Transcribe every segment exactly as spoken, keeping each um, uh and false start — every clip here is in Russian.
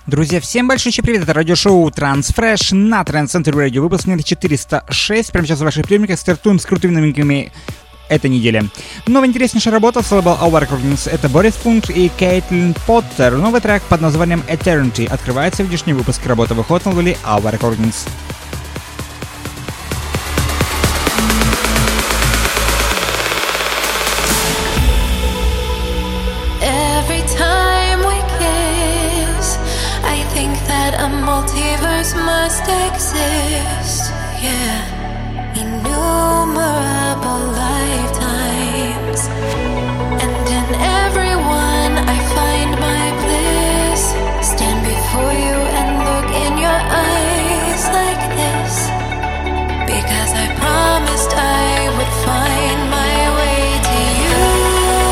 Друзья, всем большой привет, это радиошоу Transfresh на Trend Center Radio, выпуск номер четыреста шесть. Прямо сейчас в ваших приемниках стартуем с крутыми новинками этой недели. Новая интереснейшая работа с лейбла Our Recordings — это Борис Пункт и Кейтлин Поттер. Новый трек под названием Eternity открывает сегодняшний выпуск. Работа выходит на лейбле Our Recordings. A multiverse must exist, yeah. Innumerable lifetimes, and in every one I find my bliss. Stand before you and look in your eyes like this, because I promised I would find my way to you.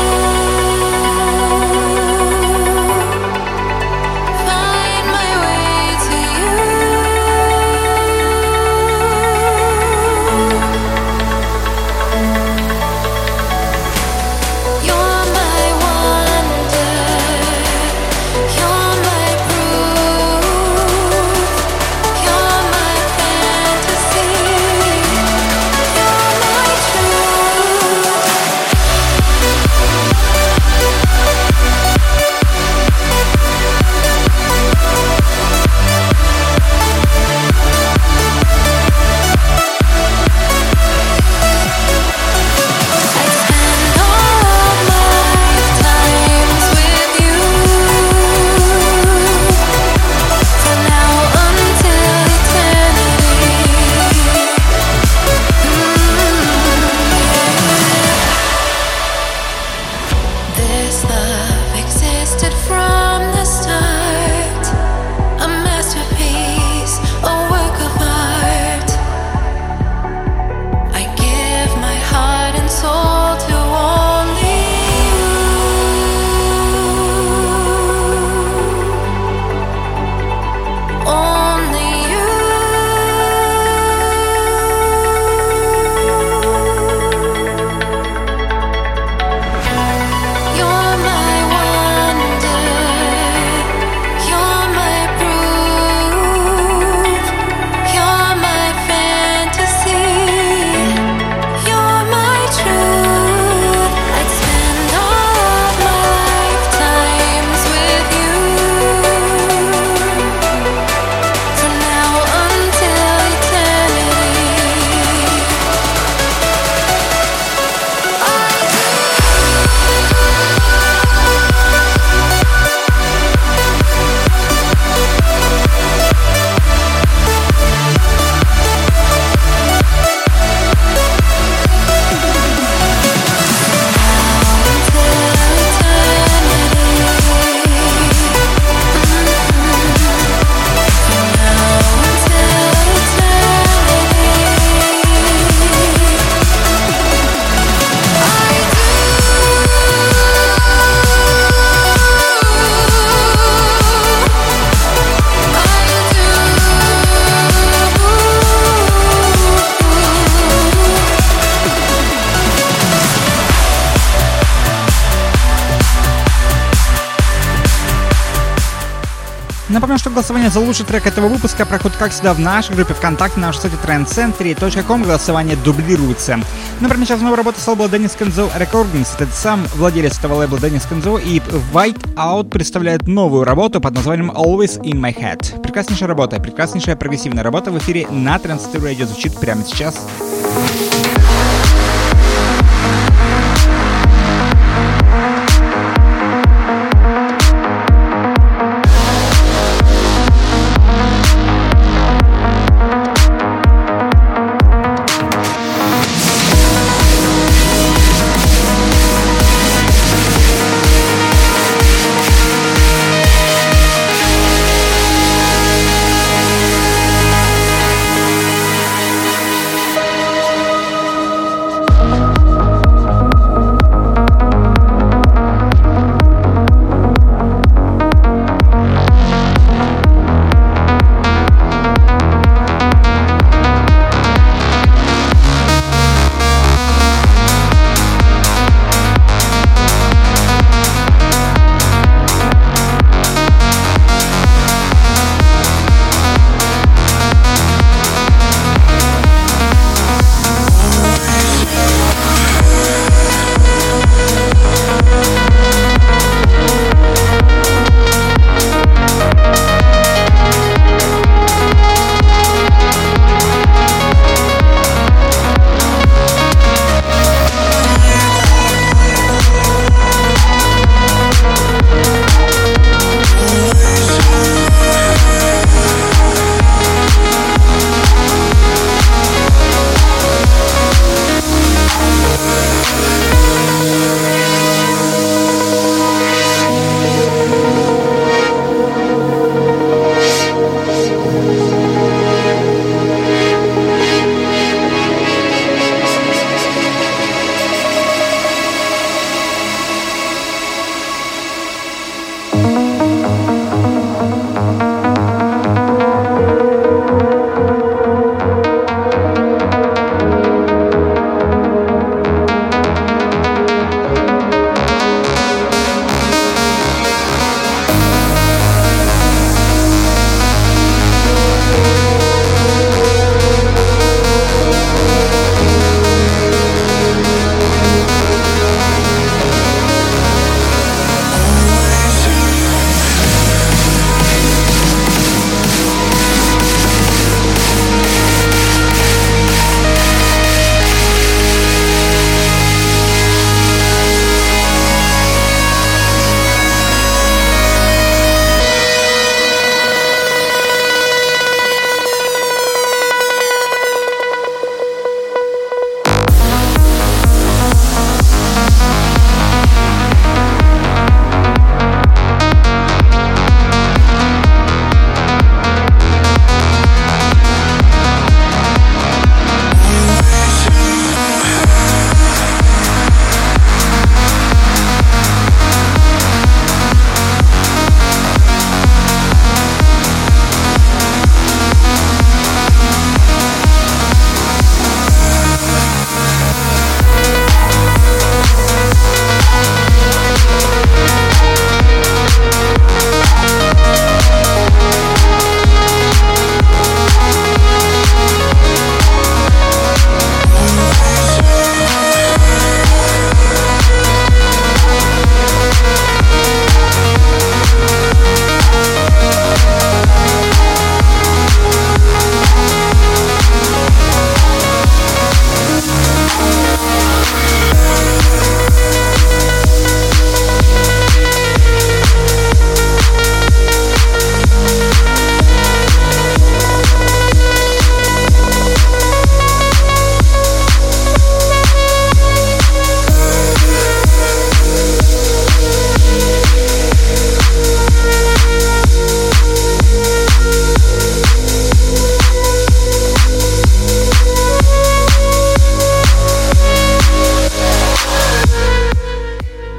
Напомню, что голосование за лучший трек этого выпуска проходит, как всегда, в нашей группе ВКонтакте, на нашем сайте тренд центр точка ком. Голосование дублируется. Например, сейчас новая работа с лейбла Dennis Kenzo Recordings. Это сам владелец этого лейбла Dennis Kenzo, и White Out представляет новую работу под названием Always in My Head. Прекраснейшая работа, прекраснейшая прогрессивная работа в эфире на Trend Center Radio звучит прямо сейчас.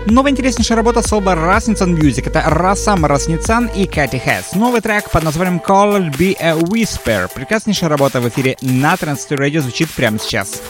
Новая интереснейшая работа с лейбла Rasmussen Music. Это Рассам Расницан и Кэти Хэс. Новый трек под названием Call Be a Whisper. Прекраснейшая работа в эфире на Transistor Radio звучит прямо сейчас.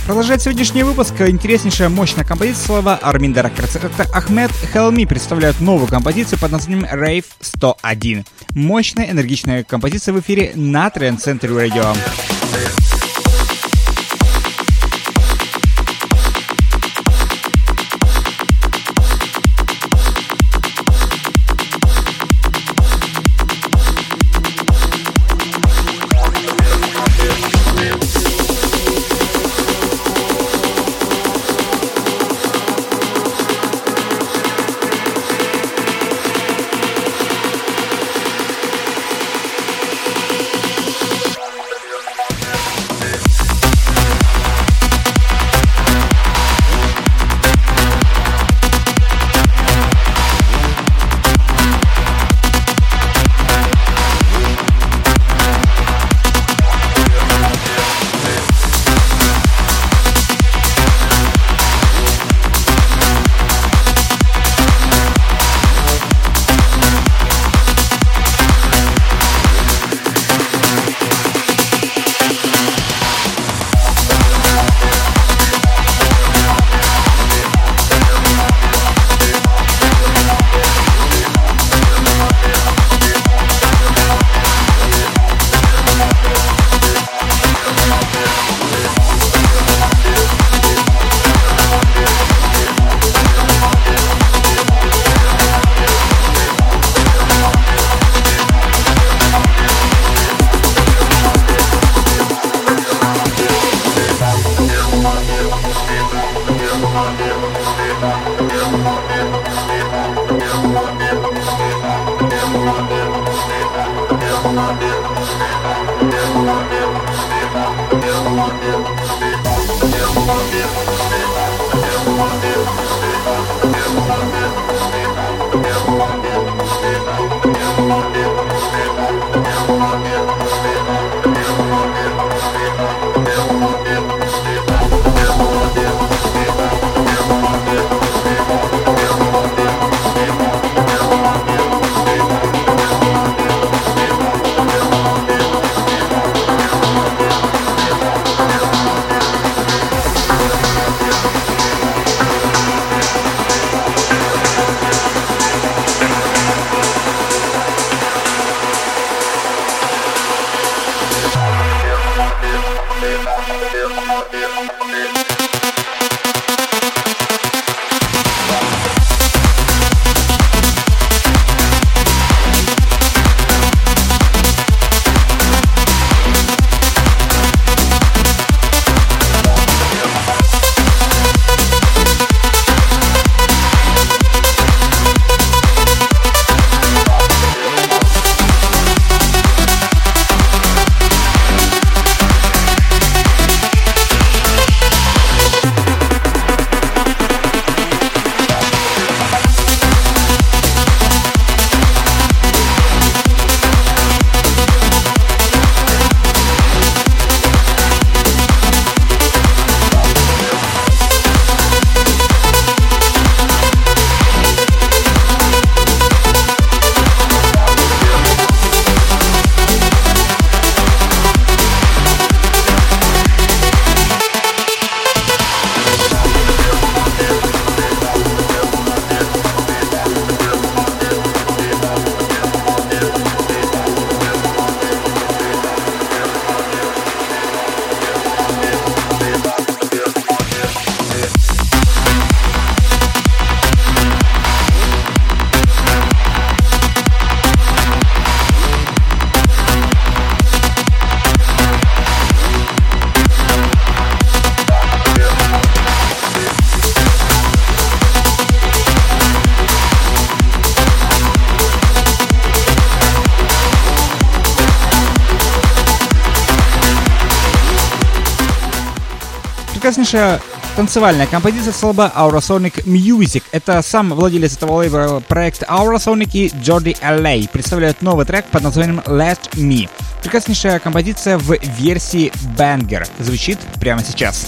Продолжает сегодняшний выпуск интереснейшая, мощная композиция слова Armin Records. Это Ahmed Helmi представляют новую композицию под названием Rave сто один. Мощная, энергичная композиция в эфире на Trend Century Radio. Прекраснейшая танцевальная композиция с лейбла Aurosonic Music. Это сам владелец этого лейбла проекта Aurosonic и Jordi эл эй представляют новый трек под названием Let Me. Прекраснейшая композиция в версии Banger звучит прямо сейчас.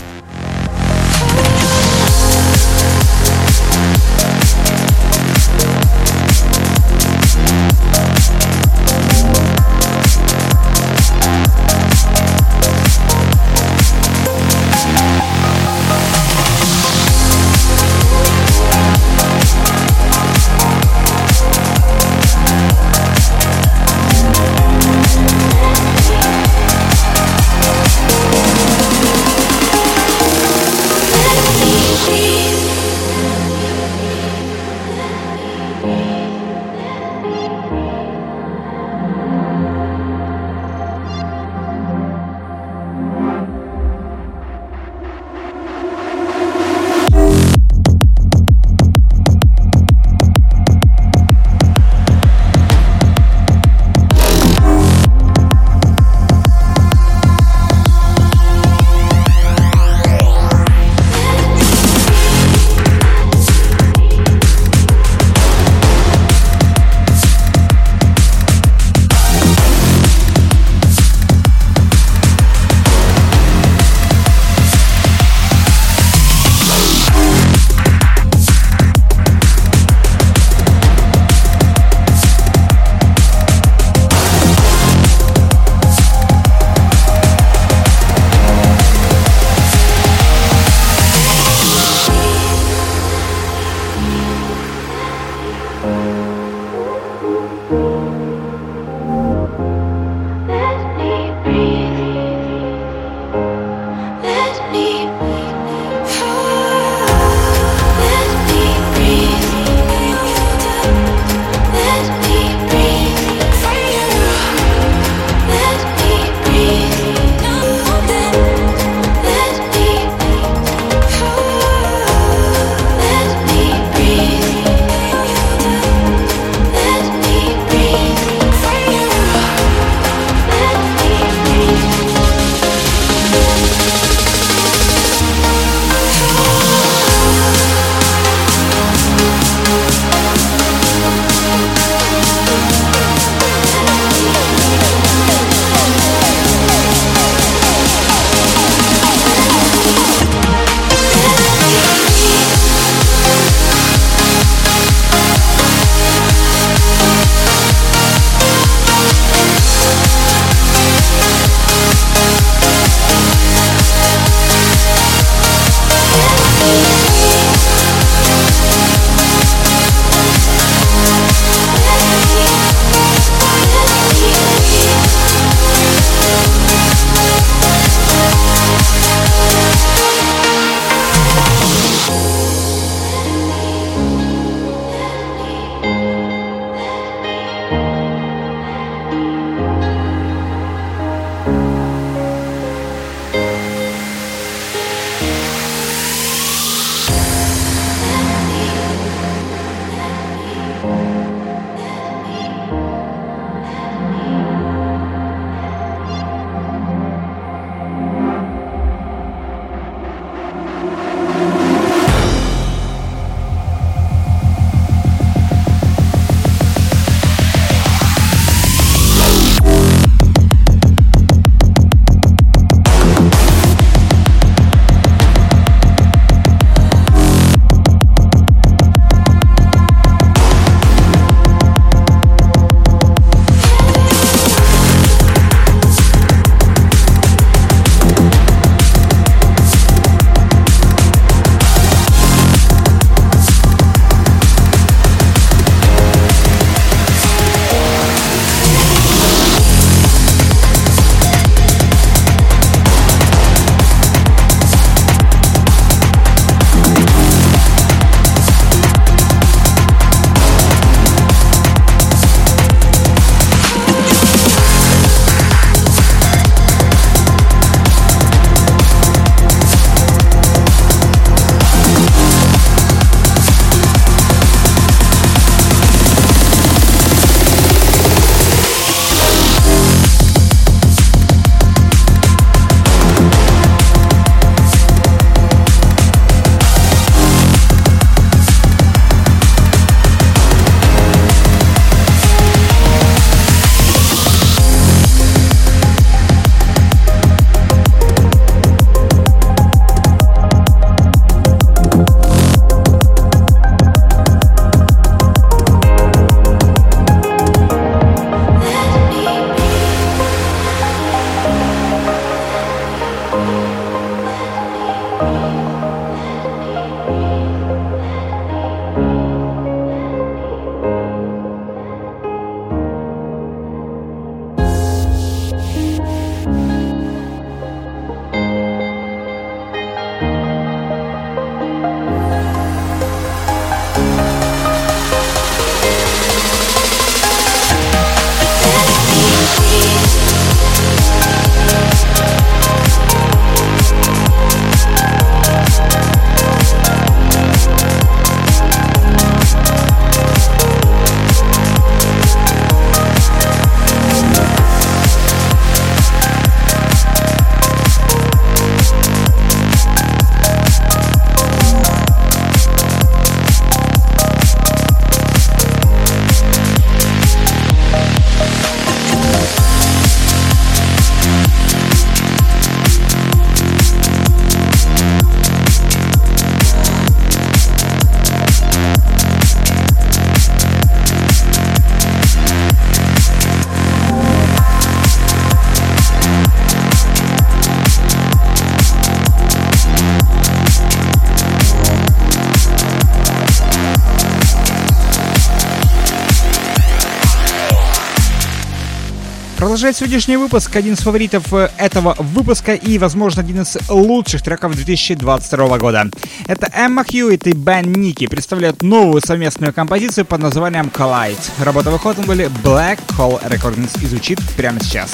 Продолжает сегодняшний выпуск один из фаворитов этого выпуска и, возможно, один из лучших треков две тысячи двадцать второго года. Это Эмма Хьюитт и Бен Ники представляют новую совместную композицию под названием Collide. Работа выходит на были Black Hole Recordings и звучит прямо сейчас.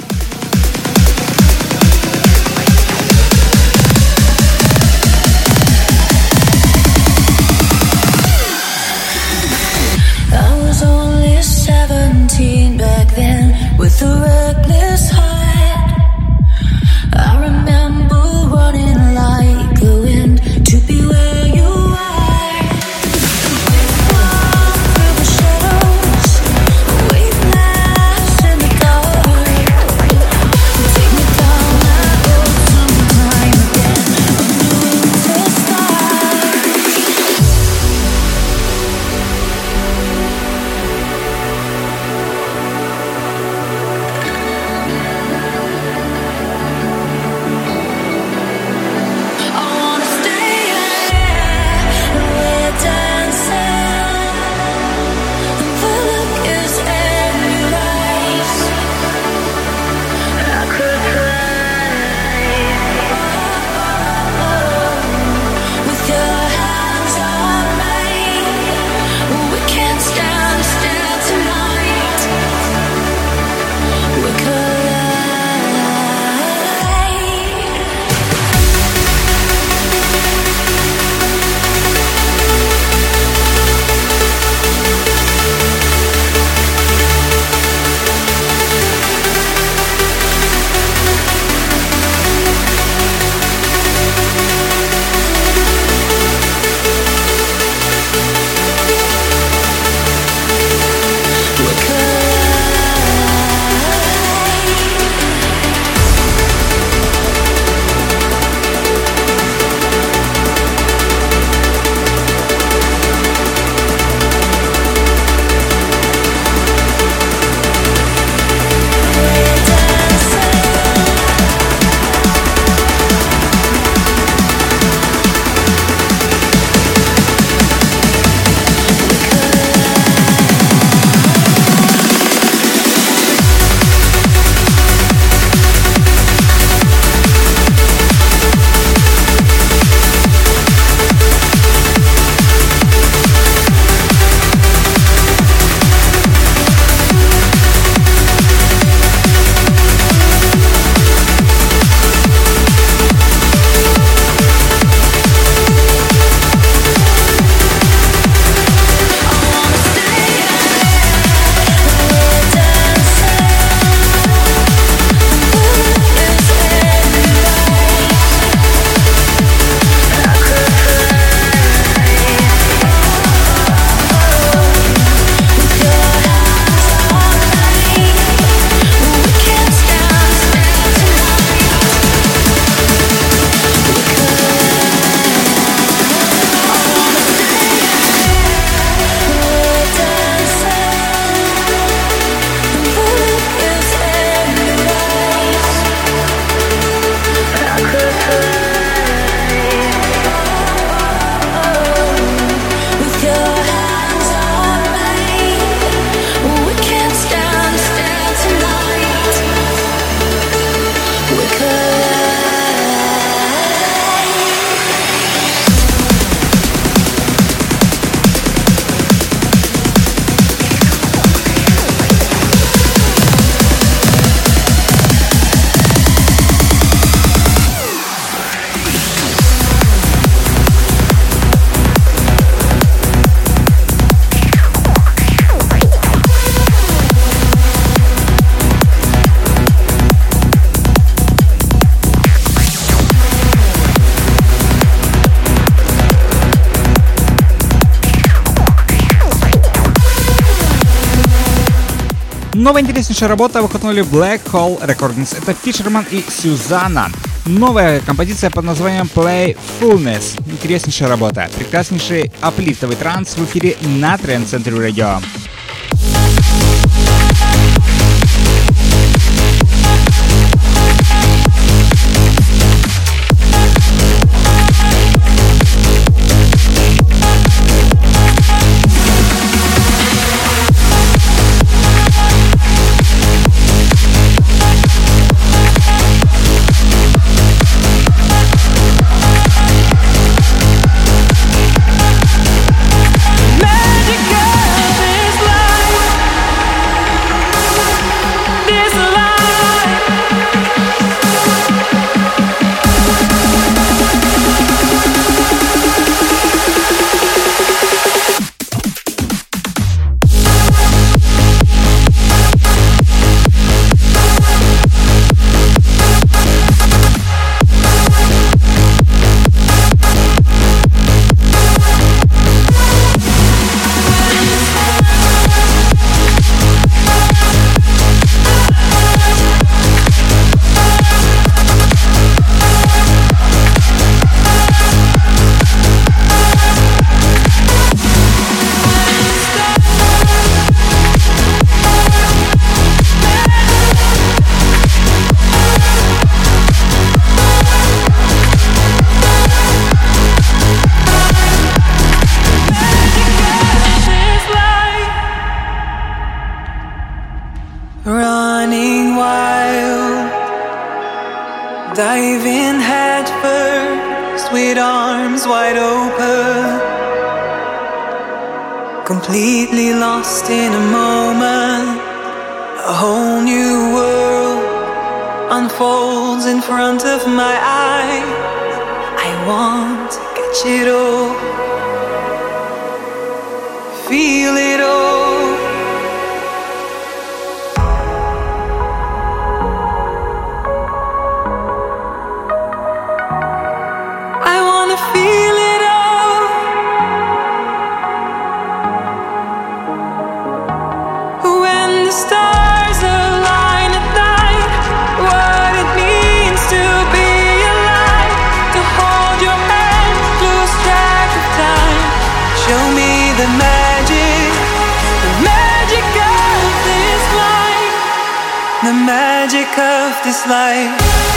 seventeen back then with a reckless heart. I remember running like the wind to be where you are. Walk through the shadows, wave laughs in the dark. Take me down that road sometime again. I'm doing to start. Новая интереснейшая работа выходнули Black Hole Recordings. Это Фишерман и Сюзанна. Новая композиция под названием Playfulness. Интереснейшая работа. Прекраснейший аплифтовый транс в эфире на Trend Century Radio. dive in head first with arms wide open, completely lost in a moment. A whole new world unfolds in front of my eyes. I want to catch it all, feel it all. The magic of this life.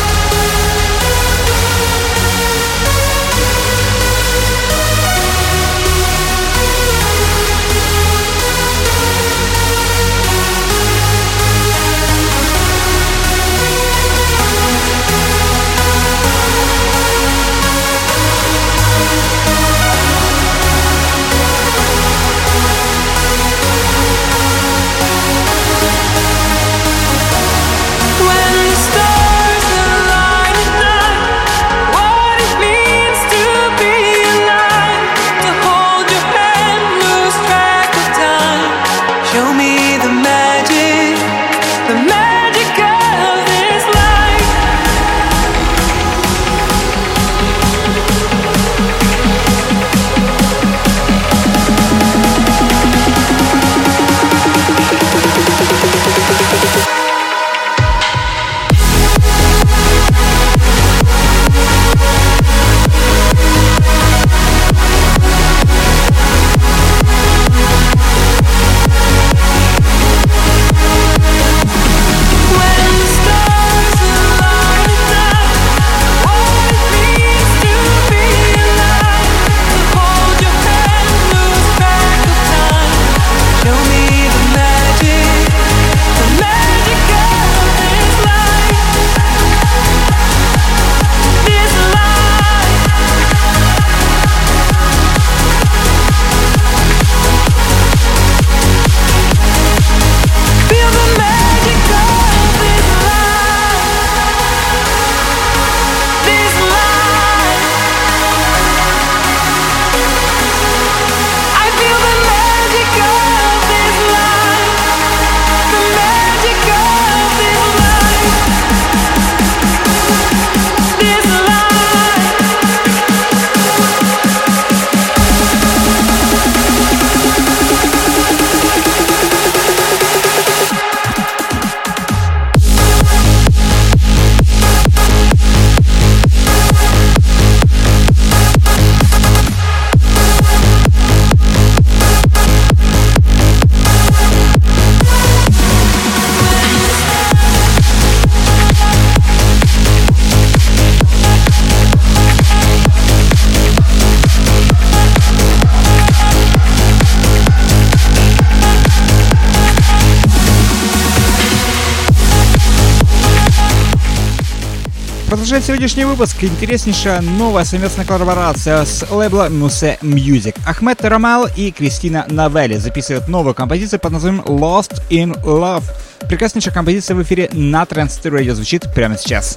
Продолжает сегодняшний выпуск интереснейшая новая совместная коллаборация с лейбла Muse Music. Ахмед Рамал и Кристина Новелли записывают новую композицию под названием Lost in Love. Прекраснейшая композиция в эфире на Trance Radio звучит прямо сейчас.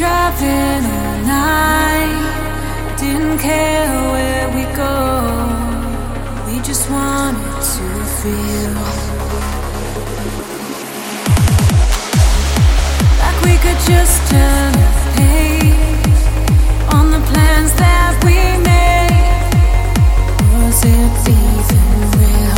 driving all night, didn't care where we go. We just wanted to feel like we could just turn the page on the plans that we made. Was it even real?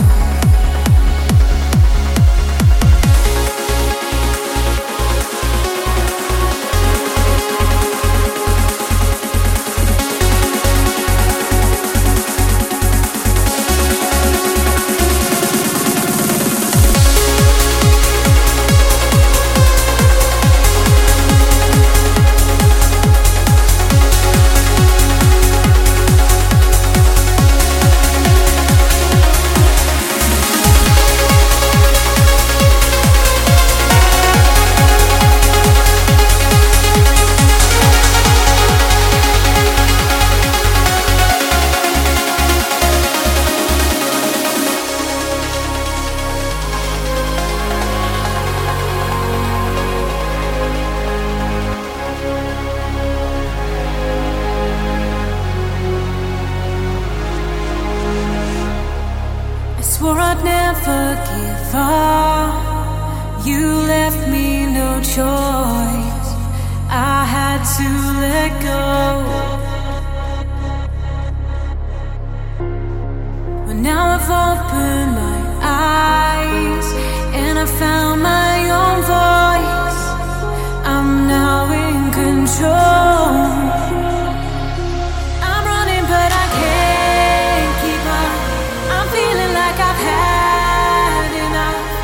Swore I'd never give up. You left me no choice. I had to let go. But now I've opened my eyes and I found my own voice. I'm now in control. I'm running but I can't keep up. I'm feeling like I've had enough.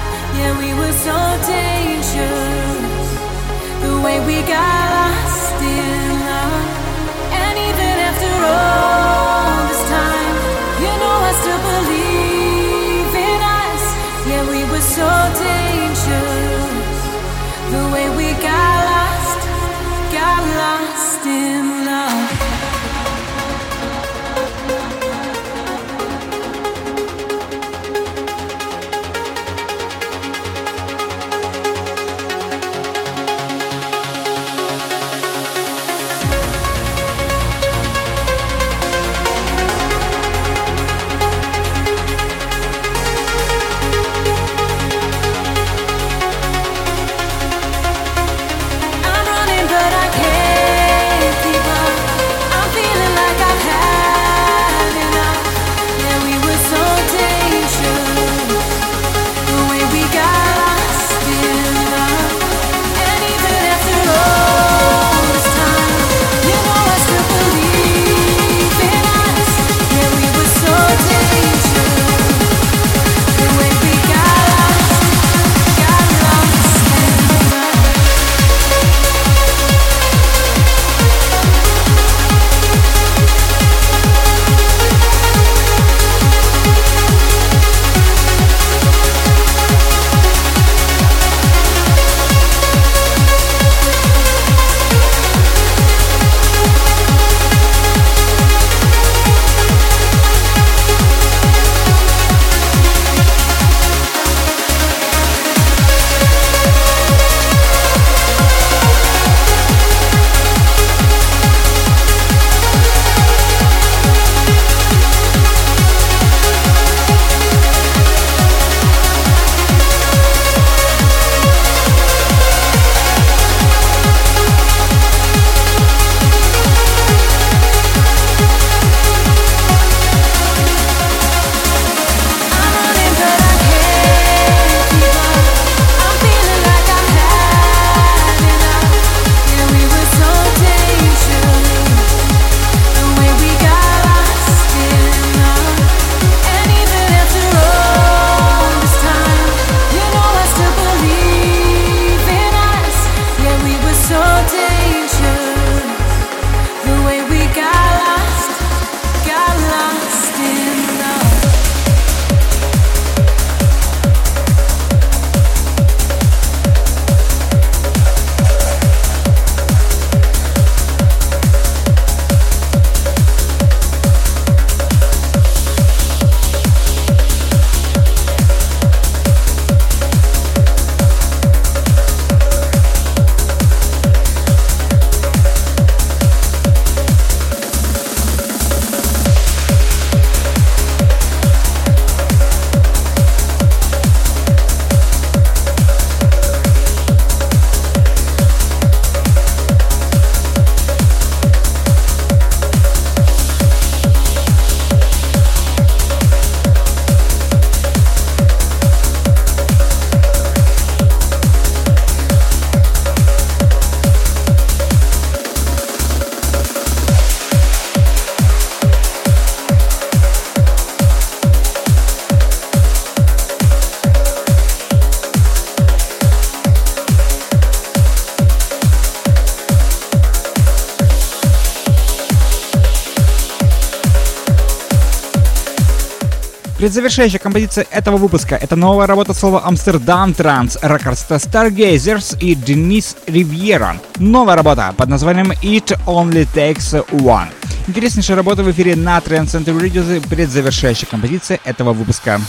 Предзавершающая композиция этого выпуска — это новая работа слова Amsterdam Trance Records, это Stargazers и Денис Ривьера. Новая работа под названием It Only Takes One. Интереснейшая работа в эфире на Trance Center Radio, предзавершающая композиция этого выпуска.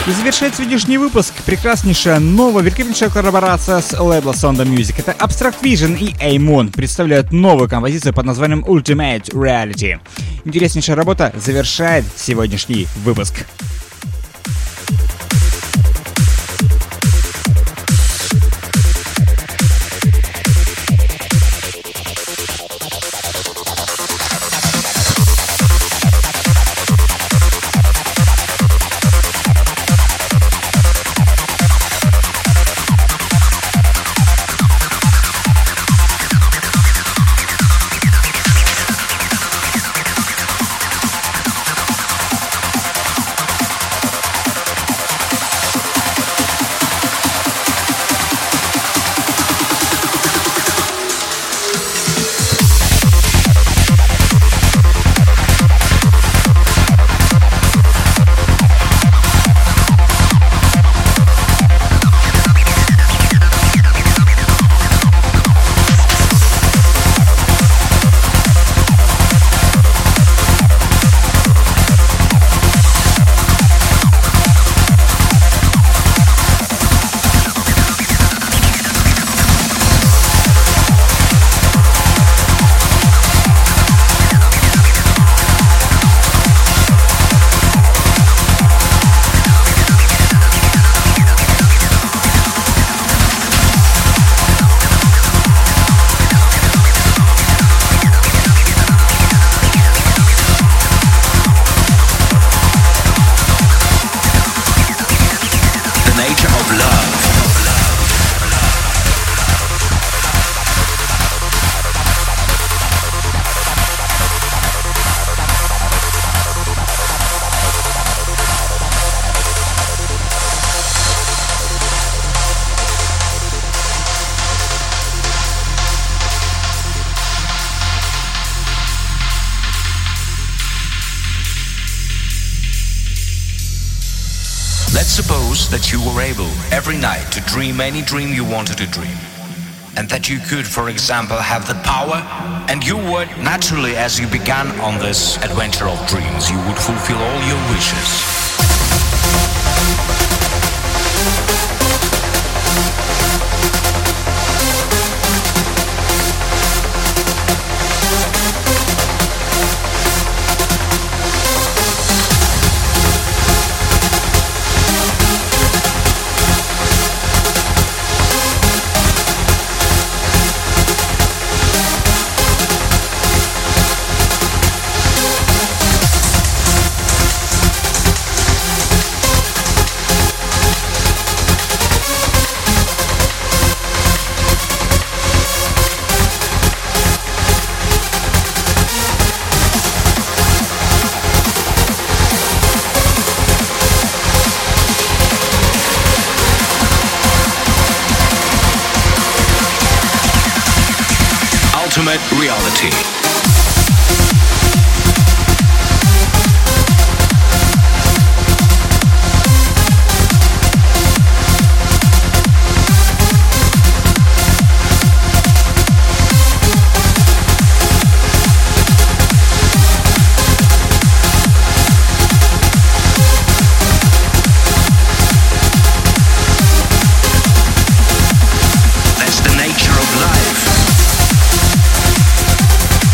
И завершает сегодняшний выпуск прекраснейшая новая, великолепнейшая коллаборация с лейбла Sonda Music. Это Abstract Vision и Amon представляют новую композицию под названием Ultimate Reality. Интереснейшая работа завершает сегодняшний выпуск. Let's suppose that you were able every night to dream any dream you wanted to dream. And that you could, for example, have the power, and you would, naturally, as you began on this adventure of dreams, you would fulfill all your wishes. Ultimate reality. That's the nature of life.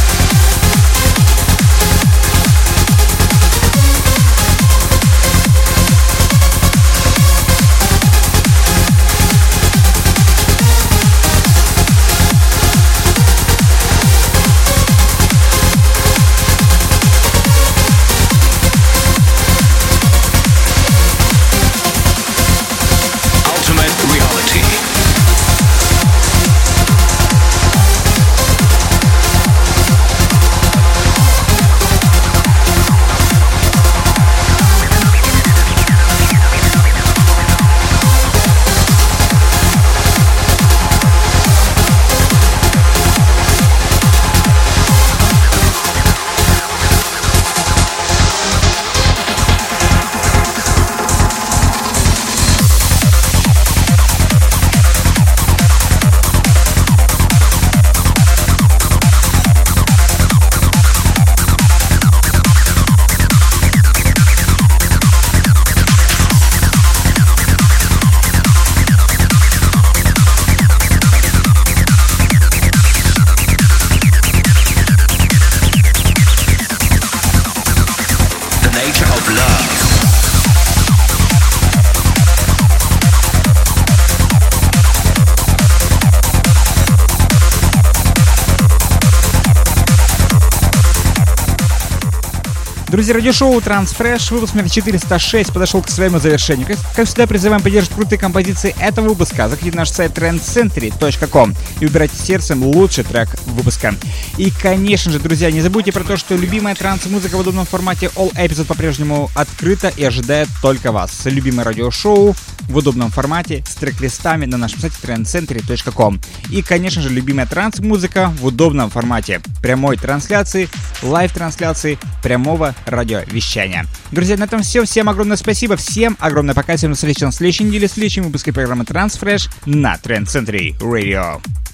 love. Друзья, радиошоу Transfresh, выпуск номер четыреста шесть подошел к своему завершению. Как, как всегда, призываем поддерживать крутые композиции этого выпуска. Заходите на наш сайт тренд центри точка ком и выбирайте сердцем лучший трек выпуска. И, конечно же, друзья, не забудьте про то, что любимая транс-музыка в удобном формате All Episode по-прежнему открыта и ожидает только вас. Любимое радиошоу в удобном формате с трек-листами на нашем сайте тренд центри точка ком. И, конечно же, любимая транс-музыка в удобном формате прямой трансляции, лайв-трансляции, прямого радиовещания. Друзья, на этом все. Всем огромное спасибо. Всем огромное пока. Всем на следующей неделе, в следующем выпуске программы Transfresh на Trend Century Radio.